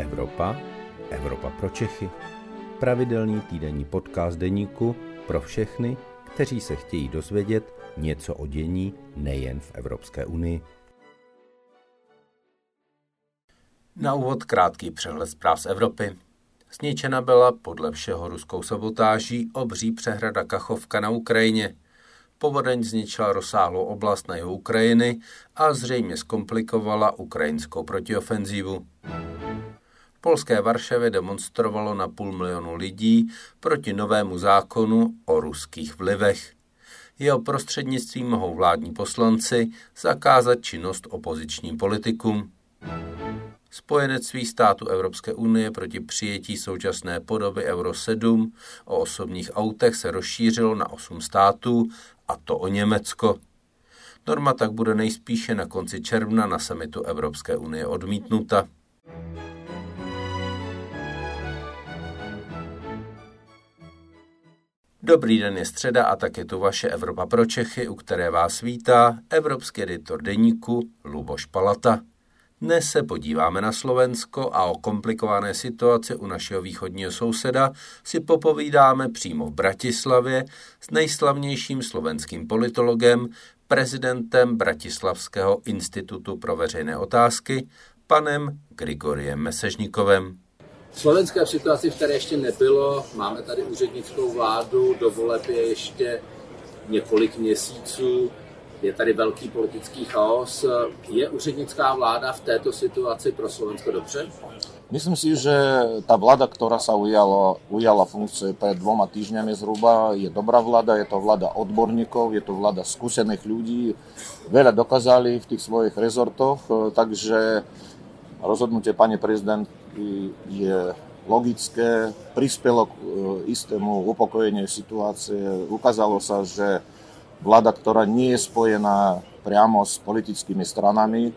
Evropa, Evropa pro Čechy. Pravidelný týdenní podcast deníku pro všechny, kteří se chtějí dozvědět něco o dění nejen v Evropské unii. Na úvod krátký přehled zpráv z Evropy. Zničena byla podle všeho ruskou sabotáží obří přehrada Kachovka na Ukrajině. Povodeň zničila rozsáhlou oblast na jihu Ukrajiny a zřejmě zkomplikovala ukrajinskou protiofenzívu. V polské Varšavě demonstrovalo na 500 000 lidí proti novému zákonu o ruských vlivech. Jeho prostřednictvím mohou vládní poslanci zakázat činnost opozičním politikům. Spojenectví států Evropské unie proti přijetí současné podoby Euro 7 o osobních autech se rozšířilo na 8 států, a to o Německo. Norma tak bude nejspíše na konci června na summitu Evropské unie odmítnuta. Dobrý den, je středa a tak je tu vaše Evropa pro Čechy, u které vás vítá evropský editor deníku Luboš Palata. Dnes se podíváme na Slovensko a o komplikované situaci u našeho východního souseda si popovídáme přímo v Bratislavě s nejslavnějším slovenským politologem, prezidentem Bratislavského institutu pro veřejné otázky, panem Grigoriem Mesežníkovem. Slovensko je v situaci, v které ještě nebylo. Máme tady úřednickou vládu, do voleb je ještě několik měsíců. Je tady velký politický chaos. Je úřednická vláda v této situaci pro Slovensko dobře? Myslím si, že tá vláda, ktorá sa ujala funkcie pred 2 týždňami zhruba, je dobrá vláda, je to vláda odborníkov, je to vláda skúsených ľudí. Veľa dokázali v tých svojich rezortoch, takže rozhodnutie pani prezidentky je logické, prispelo k istému upokojeniu situácie. Ukázalo sa, že vláda, ktorá nie je spojená priamo s politickými stranami,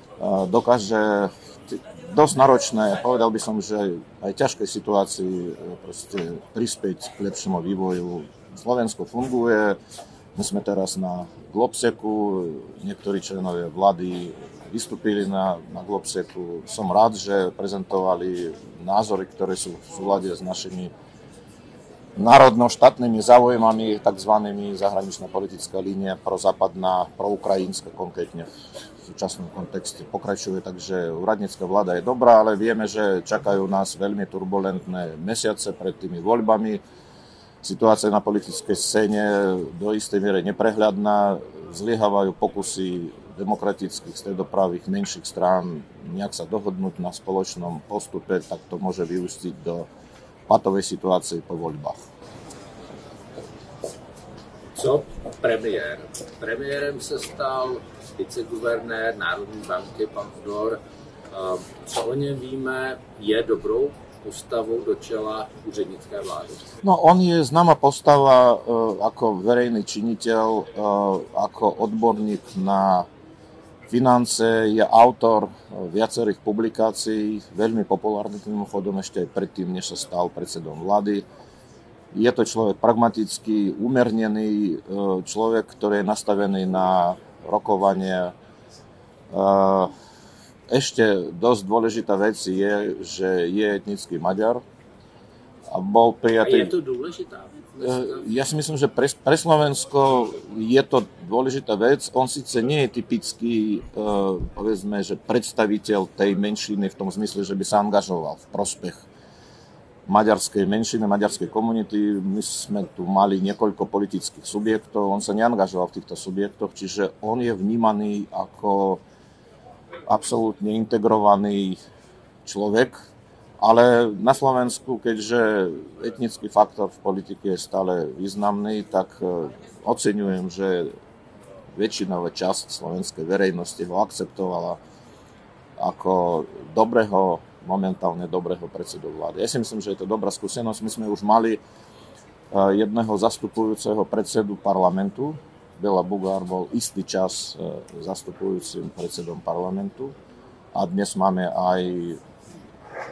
dokáže dosť náročné, povedal by som, že aj ťažkej situácii proste prispieť k lepšiemu vývoju. Slovensko funguje, my sme teraz na Globseku, niektorí členovia vlády vystúpili na Globseku. Som rád, že prezentovali názory, ktoré sú v súlade s našimi národno-štátnymi záujmami, takzvanými zahraničná politická línia prozápadná, proukrajinská konkrétne v súčasnom kontexte pokračuje, takže úradnícka vláda je dobrá, ale vieme, že čakajú nás veľmi turbulentné mesiace pred tými voľbami. Situácia na politickej scéne do istej miery neprehľadná, zlyhávajú pokusy demokratických stredopravých menších strán nejak sa dohodnúť na spoločnom postupe, tak to môže vyústiť do patovej situácii po voľbách. Co premiér? Premiérem se stal viceguvernér Národní banky, pan Fodor. Co o něm víme, je dobrou postavou do čela úřednické vlády? No, on je známa postava ako verejný činiteľ, ako odborník na finance, je autor viacerých publikácií, veľmi populárny mimochodom ešte aj predtým, než sa stal predsedom vlády. Je to človek pragmatický, umernený, človek, ktorý je nastavený na rokovanie. Ešte dosť dôležitá vec je, že je etnický Maďar a bol prijatý. A je to dôležitá vec? Ja si myslím, že pre Slovensko je to dôležitá vec. On síce nie je typický, povedzme, že predstaviteľ tej menšiny v tom zmysle, že by sa angažoval v prospech maďarskej menšiny, maďarskej komunity. My sme tu mali niekoľko politických subjektov, on sa neangažoval v týchto subjektoch, čiže on je vnímaný ako absolútne integrovaný človek, ale na Slovensku, keďže etnický faktor v politike je stále významný, tak oceňujem, že väčšinová časť slovenskej verejnosti ho akceptovala ako momentálne dobrého predsedu vlády. Ja si myslím, že je to dobrá skúsenosť. My sme už mali jedného zastupujúceho predsedu parlamentu. Béla Bugár bol istý čas zastupujúcim predsedom parlamentu. A dnes máme aj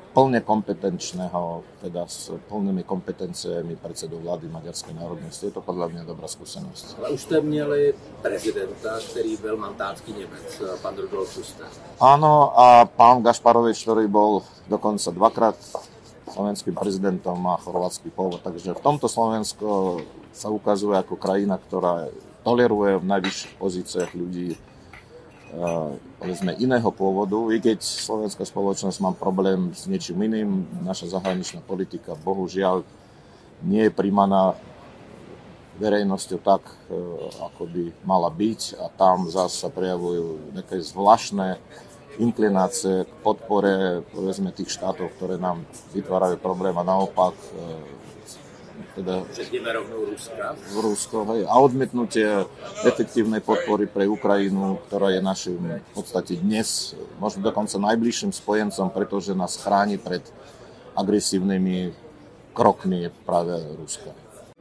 plne kompetenčného, teda s plnými kompetenciemi predsedu vlády Maďarskej národnosti. Je to podľa mňa dobrá skúsenosť. Ale už jste měli prezidenta, který byl mandátský Němec, pan Rudolf Schuster. Áno, a pán Gašparovič, ktorý bol dokonca dvakrát slovenským prezidentom, má chorvátsky pôvod. Takže v tomto Slovensko sa ukazuje ako krajina, ktorá toleruje v najvyšších pozíciách ľudí povedzme iného pôvodu. I keď slovenská spoločnosť má problém s niečím iným, naša zahraničná politika bohužiaľ nie je príjmaná verejnosťou tak, ako by mala byť, a tam zase sa prejavujú nejaké zvláštne inklinácie k podpore povedzme tých štátov, ktoré nám vytvárajú problém, a naopak teda Rusko, hej, a odmietnutie efektívnej podpory pre Ukrajinu, ktorá je našim v podstate dnes možno dokonca najbližším spojencom, pretože nás chráni pred agresívnymi krokmi práve Ruska.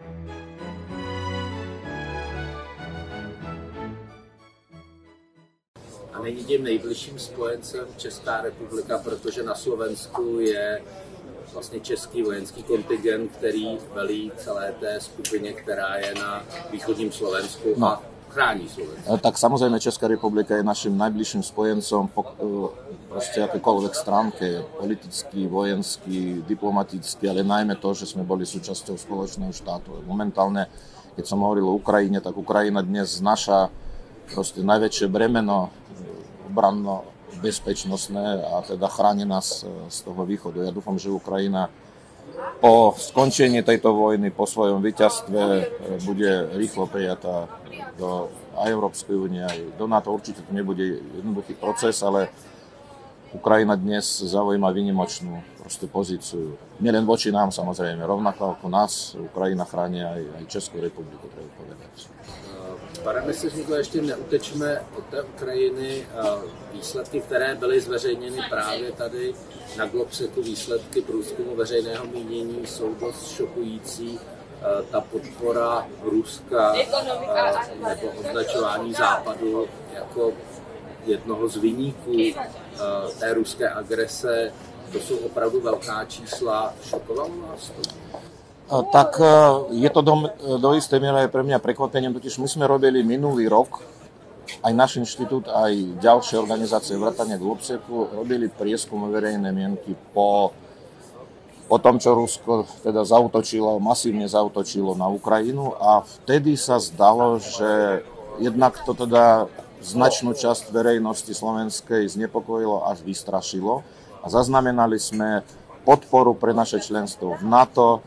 A není tím nejbližším spojencem Česká republika, protože na Slovensku je vlastně český vojenský kontingent, který velí celé té skupině, která je na východním Slovensku a chrání Slovensko. Tak samozrejme Česká republika je našim najbližším spojencom po proste akékoľvek stránke, politický, vojenský, diplomatický, ale najmä to, že sme boli súčasťou spoločného štátu. Momentálne, keď som hovoril o Ukrajine, tak Ukrajina dnes znaša proste najväčšie bremeno obranno bezpečnostné a teda chráni nás z toho východu. Ja dúfam, že Ukrajina po skončení tejto vojny, po svojom víťazstve bude rýchlo prijatá do Európskej únie aj do NATO. Určite to nebude jednoduchý proces, ale Ukrajina dnes zaujíma výnimočnú pozíciu. Nielen voči nám samozrejme, rovnako ako nás Ukrajina chráni aj Českú republiku, treba povedať. Pane ministře, ještě neutečme od té Ukrajiny. Výsledky, které byly zveřejněny právě tady na Globseku, výsledky průzkumu veřejného mínění, jsou dost šokující. Ta podpora Ruska nebo označování Západu jako jednoho z viníků té ruské agrese, to jsou opravdu velká čísla. Šokovalo nás to? Tak je to do istej miery aj pre mňa prekvapením, totiž my sme robili minulý rok, aj náš inštitút, aj ďalšie organizácie vrátane Globseku, robili prieskum verejnej mienky po tom, čo Rusko teda masívne zaútočilo na Ukrajinu, a vtedy sa zdalo, že jednak to teda značnú časť verejnosti slovenskej znepokojilo až vystrašilo, a zaznamenali sme podporu pre naše členstvo v NATO,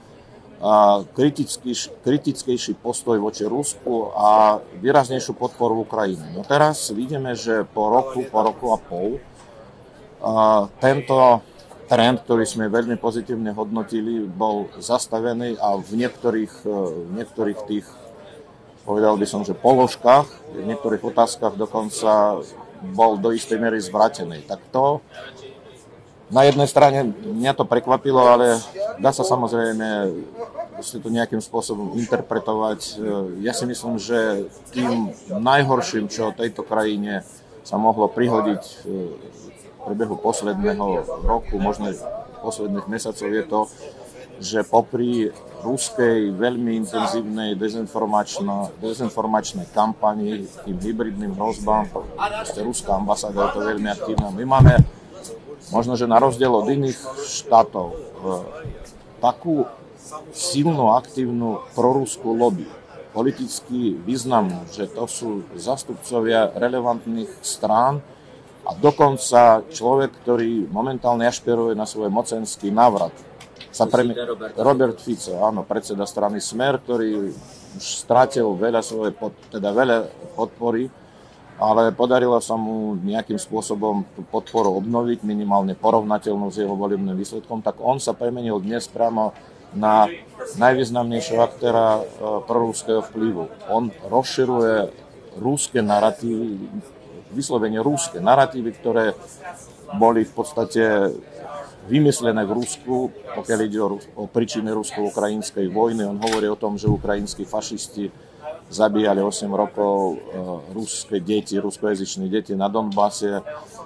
kritickejší postoj voči Rusku a výraznejšiu podporu Ukrajiny. No teraz vidíme, že po roku a pol tento trend, ktorý sme veľmi pozitívne hodnotili, bol zastavený a v niektorých tých, povedal by som, že položkách, v niektorých otázkach dokonca bol do istej miery zvrátený. Tak to na jednej strane mňa to prekvapilo, ale dá sa samozrejme to nejakým spôsobom interpretovať. Ja si myslím, že tým najhorším, čo tejto krajine sa mohlo prihodiť v priebehu posledného roku, možno posledných mesiacov, je to, že popri ruskej veľmi intenzívnej dezinformačnej kampani, tým hybridným hrozbám, ruská ambasáda je to veľmi aktívna. My máme možno, že na rozdiel od iných štátov takú silnú, aktívnu proruskú lobby, politicky významnú, že to sú zastupcovia relevantných strán a dokonca človek, ktorý momentálne ašpiruje na svoj mocenský návrat. Robert Fico, áno, predseda strany Smer, ktorý už strátil veľa podpory, ale podarilo sa mu nejakým spôsobom tú podporu obnoviť, minimálne porovnateľnú s jeho volebným výsledkom, tak on sa premenil dnes priamo na najvýznamnejšieho aktéra proruského vplyvu. On rozširuje ruské naratívy, vyslovene ruské naratívy, ktoré boli v podstate vymyslené v Rusku, pokiaľ ide o príčiny rusko-ukrajinskej vojny. On hovorí o tom, že ukrajinskí fašisti zabíjali 8 rokov ruské deti, ruskojazyčné deti na Donbase.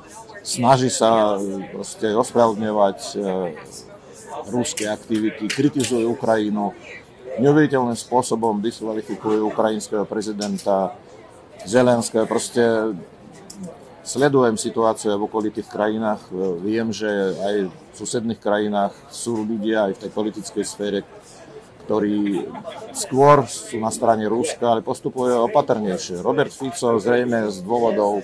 snaží sa proste ospravedlňovať ruské aktivity, kritizuje Ukrajinu, neuveriteľným spôsobom diskvalifikuje ukrajinského prezidenta Zelenského. Proste sledujem situáciu v okolitých krajinách. Viem, že aj v susedných krajinách sú ľudia aj v tej politickej sfére, ktorí skôr sú na strane Ruska, ale postupujú opatrnejšie. Robert Fico zrejme z dôvodov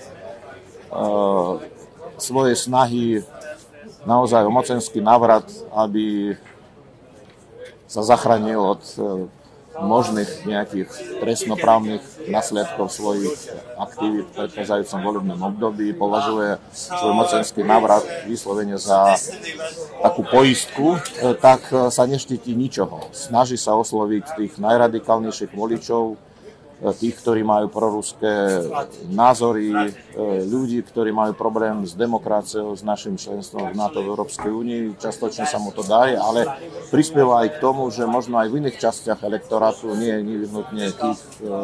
svojej snahy naozaj o mocenský návrat, aby sa zachránil od možných nejakých trestnoprávnych následkov svojich aktivít v predchádzajúcom volebnom období, považuje svoj mocenský návrat vyslovene za takú poistku, tak sa neštíti ničoho. Snaží sa osloviť tých najradikálnejších voličov, tých, ktorí majú proruské názory, ľudí, ktorí majú problém s demokraciou, s našim členstvom v NATO v Európskej únii. Častočne sa mu to darí, ale prispieva aj k tomu, že možno aj v iných častiach elektorátu, nie nevyhnutne tých,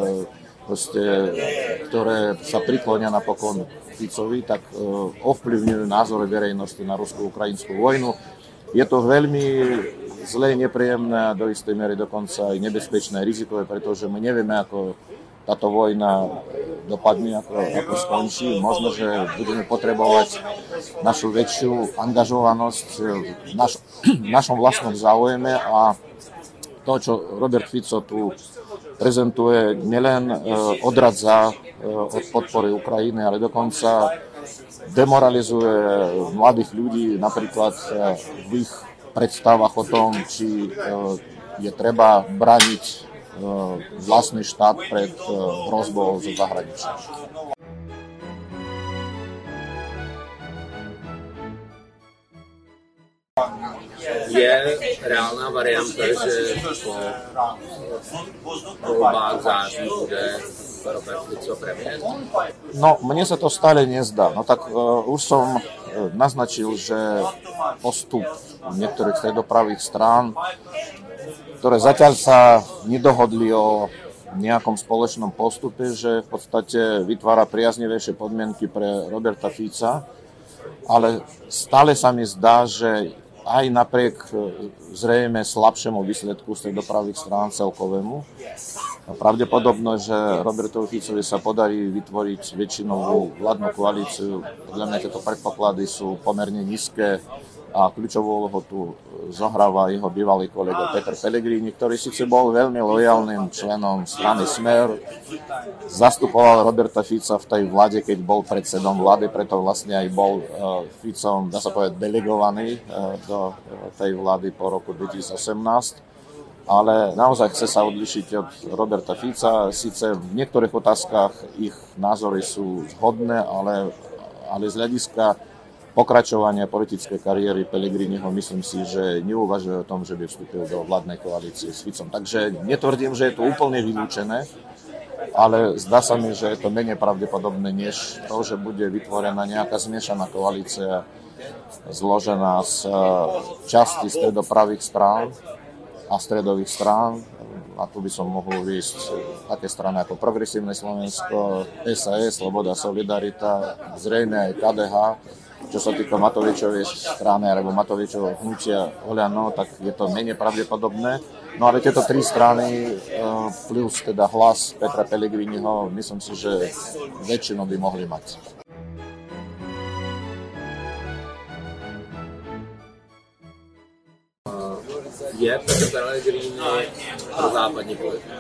ktoré sa priklonia napokon Ficovi, tak ovplyvňujú názory verejnosti na rusko-ukrajinskú vojnu. Je to veľmi zlé, nepríjemné a do istej miery dokonca aj nebezpečné, rizikové, pretože my nevieme, ako táto vojna dopadne, ako skončí. Možno, že budeme potrebovať našu väčšiu angažovanosť v našom vlastnom záujme a to, čo Robert Fico tu prezentuje, nielen odradza od podpory Ukrajiny, ale dokonca demoralizuje mladých ľudí napríklad v ich predstavách o tom, či je treba brániť vlastný štát pred hrozbou zo zahraničia. Je reálná varianta, že po voľbách září bude Robert Fico premiér? No, mne sa to stále nezdá. No tak už som naznačil, že postup niektorých stredopravých strán, ktoré zatiaľ sa nedohodli o nejakom spoločnom postupe, že v podstate vytvára priaznivejšie podmienky pre Roberta Fica, ale stále sa mi zdá, že aj napriek zrejme slabšiemu výsledku stredopravých strán celkovému, pravdepodobno, že Robertovi Ficovi sa podarí vytvoriť väčšinovú vládnu koalíciu. Podľa mňa tieto predpoklady sú pomerne nízke a kľúčovú úlohu tu zohráva jeho bývalý kolega Peter Pellegrini, ktorý síce bol veľmi lojálnym členom strany Smer, zastupoval Roberta Fica v tej vláde, keď bol predsedom vlády, preto vlastne aj bol Ficom, dá sa povedať, delegovaný do tej vlády po roku 2018. Ale naozaj chce sa odlišiť od Roberta Fica. Sice v niektorých otázkach ich názory sú zhodné, ale z hľadiska pokračovania politickej kariéry Pellegriniho myslím si, že neuvažuje o tom, že by vstúpil do vládnej koalície s Ficom. Takže netvrdím, že je to úplne vylúčené, ale zdá sa mi, že je to menej pravdepodobné, než to, že bude vytvorená nejaká zmiešaná koalícia zložená z časti stredopravých strán a stredových strán. A tu by som mohol uviesť také strany ako Progresívne Slovensko, SAS, Sloboda, Solidarita, zrejme aj KDH. Čo sa týka Matovičovej strany alebo Matovičovho hnutia Oľano, tak je to menej pravdepodobné. No ale tieto tri strany plus teda hlas Petra Pellegriniho, myslím si, že väčšinu by mohli mať. Je Petr Pellegrini prozápadní politik?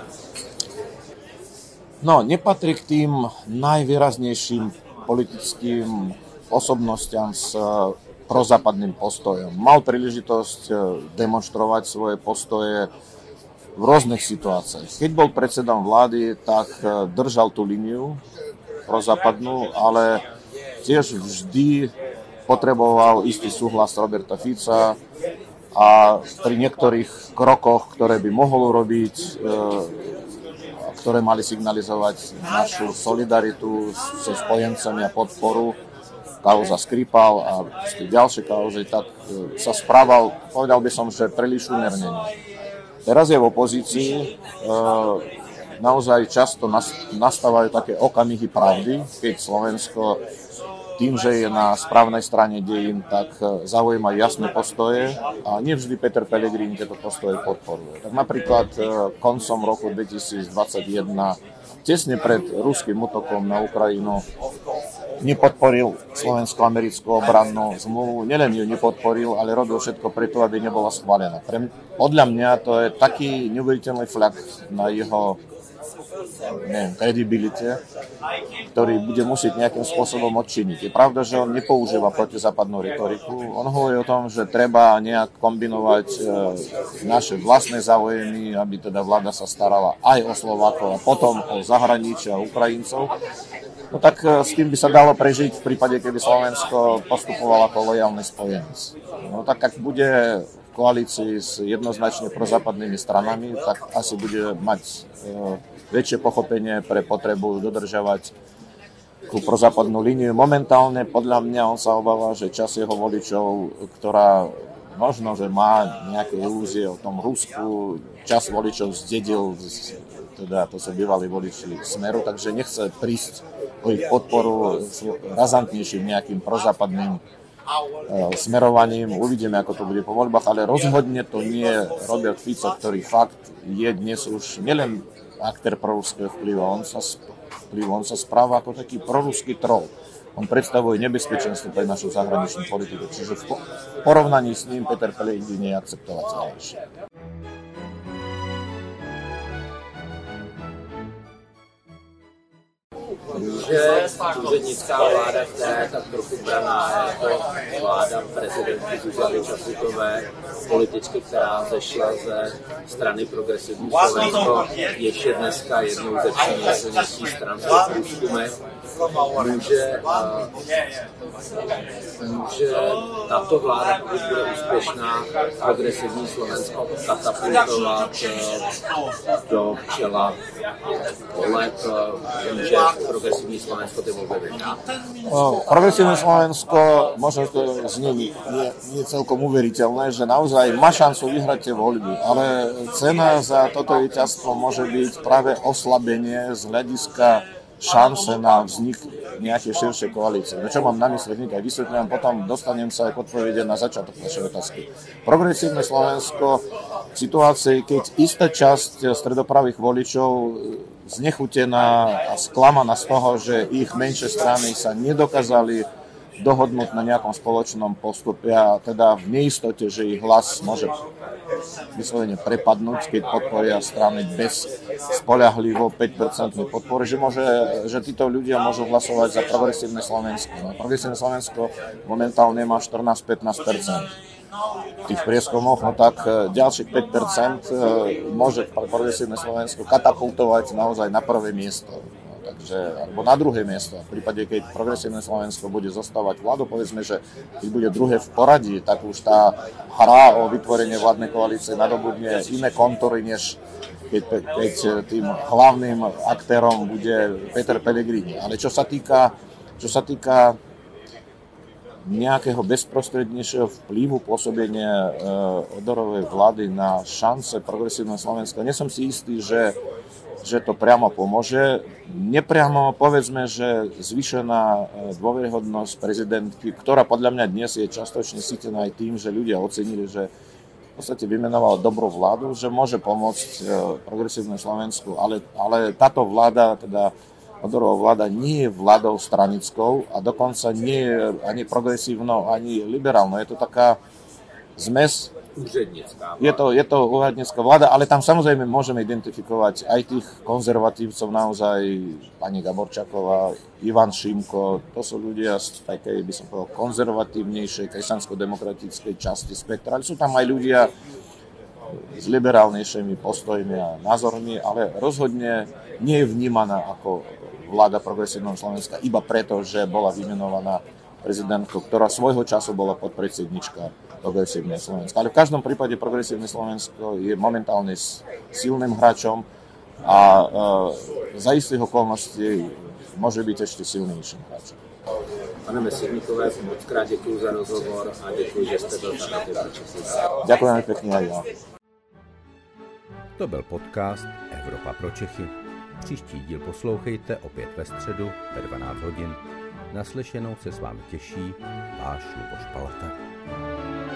No, nepatrí k tým najvýraznejším politickým osobnostiam s prozápadným postojom. Mal príležitosť demonstrovať svoje postoje v rôznych situáciách. Keď bol predsedom vlády, tak držal tú líniu prozápadnú, ale tiež vždy potreboval istý súhlas Roberta Fica a pri niektorých krokoch, ktoré by mohol urobiť, ktoré mali signalizovať našu solidaritu so spojencami a podporu, kauza Skripal a ďalšie kauzy, tak sa správal, povedal by som, že príliš umernene. Teraz je v opozícii, naozaj často nastávajú také okamihy pravdy, keď Slovensko tým, že je na správnej strane dejín, tak zaujíma jasné postoje a nevždy Peter Pellegrini tieto postoje podporuje. Tak napríklad koncom roku 2021, tesne pred ruským útokom na Ukrajinu, nepodporil slovensko-americkú obrannú zmluvu. Nielen ju nepodporil, ale robil všetko preto, aby nebola schválená. Podľa mňa to je taký neuveriteľný flak na jeho kredibilite, ktorý bude musieť nejakým spôsobom odčiniť. Je pravda, že on nepoužíva protizápadnú retoriku. On hovorí o tom, že treba nejak kombinovať naše vlastné záujmy, aby teda vláda sa starala aj o Slovákov a potom o zahraničí a Ukrajincov. No tak s tým by sa dalo prežiť v prípade, keby Slovensko postupovalo ako lojálny spojenec. No tak ak bude v koalícii s jednoznačne prozápadnými stranami, tak asi bude mať väčšie pochopenie pre potrebu dodržiavať tú prozápadnú líniu. Momentálne podľa mňa on sa obáva, že čas jeho voličov, ktorá možno, že má nejaké ilúzie o tom Rusku, čas voličov zdedil, teda to sa bývali voliči Smeru, takže nechce prísť o ich podporu s razantnejším nejakým prozápadným smerovaním. Uvidíme, ako to bude po voľbách, ale rozhodne to nie je Robert Fico, ktorý fakt je dnes už nielen aktér proruského vplyvu, on sa správa ako taký proruský troll. On predstavuje nebezpečenstvo pre našu zahraničnú politiku, čiže v porovnaní s ním Peter Pellegrini je akceptovateľnejší. Že úřednická vláda, která je tak trochu braná jako vláda prezidentky Zuzany Čaputové, političky, která zešla ze strany Progresivní Slovensko, ještě dneska jednou ze tří nejsilnějších stran v průzkumech, může tato vláda, pokud bude úspěšná, Progresivní Slovensko katapultovat do čela voleb, může Progresivní Slovensko ty volby vyhrát. Progresívne Slovensko, možno to znie nie celkom uveriteľné, že naozaj má šancu vyhrať tie voľby, ale cena za toto víťazstvo môže byť práve oslabenie z hľadiska šance na vznik nejakej širšej koalície. No čo mám na mysli, hneď aj vysvetľujem, potom dostanem sa aj k odpovede na začiatok našej otázky. Progresívne Slovensko v situácii, keď istá časť stredopravých voličov znechutená a sklamaná z toho, že ich menšie strany sa nedokázali dohodnúť na nejakom spoločnom postupe a teda v neistote, že ich hlas môže vyslovene prepadnúť, keď podporia strany bez spoľahlivo 5% podpory, že títo ľudia môžu hlasovať za Progresívne Slovensko. No, Progresívne Slovensko momentálne má 14-15%. V tých prieskumoch, no tak ďalších 5% môže Progresívne Slovensko katapultovať naozaj na prvé miesto. Alebo na druhé miesto. V prípade, keď Progresívne Slovensko bude zostávať vládu, povedzme, že keď bude druhé v poradí, tak už tá hra o vytvorenie vládnej koalície nadobudne iné kontúry, než keď tým hlavným aktérom bude Peter Pellegrini. Ale čo sa týka nejakého bezprostrednejšieho vplyvu pôsobenia Odorovej vlády na šance Progresívneho Slovenska, nie som si istý, že to priamo pomôže. Nepriamo povedzme, že zvýšená dôveryhodnosť prezidentky, ktorá podľa mňa dnes je častočne sítená aj tým, že ľudia ocenili, že v podstate vymenovala dobrú vládu, že môže pomôcť Progresívne Slovensku, ale táto vláda, teda Odorová vláda, nie je vládou stranickou a dokonca nie je ani progresívnou, ani liberálnou. Je to taká zmes. Je to úradnícka vláda, ale tam samozrejme môžeme identifikovať aj tých konzervatívcov, naozaj pani Gaborčáková, Ivan Šimko, to sú ľudia z takej, by som povedal, konzervatívnejšej kresťansko-demokratickej časti spektra, ale sú tam aj ľudia s liberálnejšími postojmi a názormi, ale rozhodne nie je vnímaná ako vláda Progresívneho Slovenska iba preto, že bola vymenovaná prezidentkou, ktorá svojho času bola podpredsednička Progresívneho Slovenska. Ale v každom prípade Progresívne Slovensko je momentálne silným hráčom a za istých okolností môže byť ešte silnejším hráčom. Pane Meserníkové, moc krát děkuji za rozhovor a děkuji, že jste byl tady na Čechy. Ďakujem pekne aj ja. To byl podcast Evropa pro Čechy. Příští díl poslouchejte opět ve středu ve 12 hodin. Naslyšenou se s vámi těší váš Luboš Palata.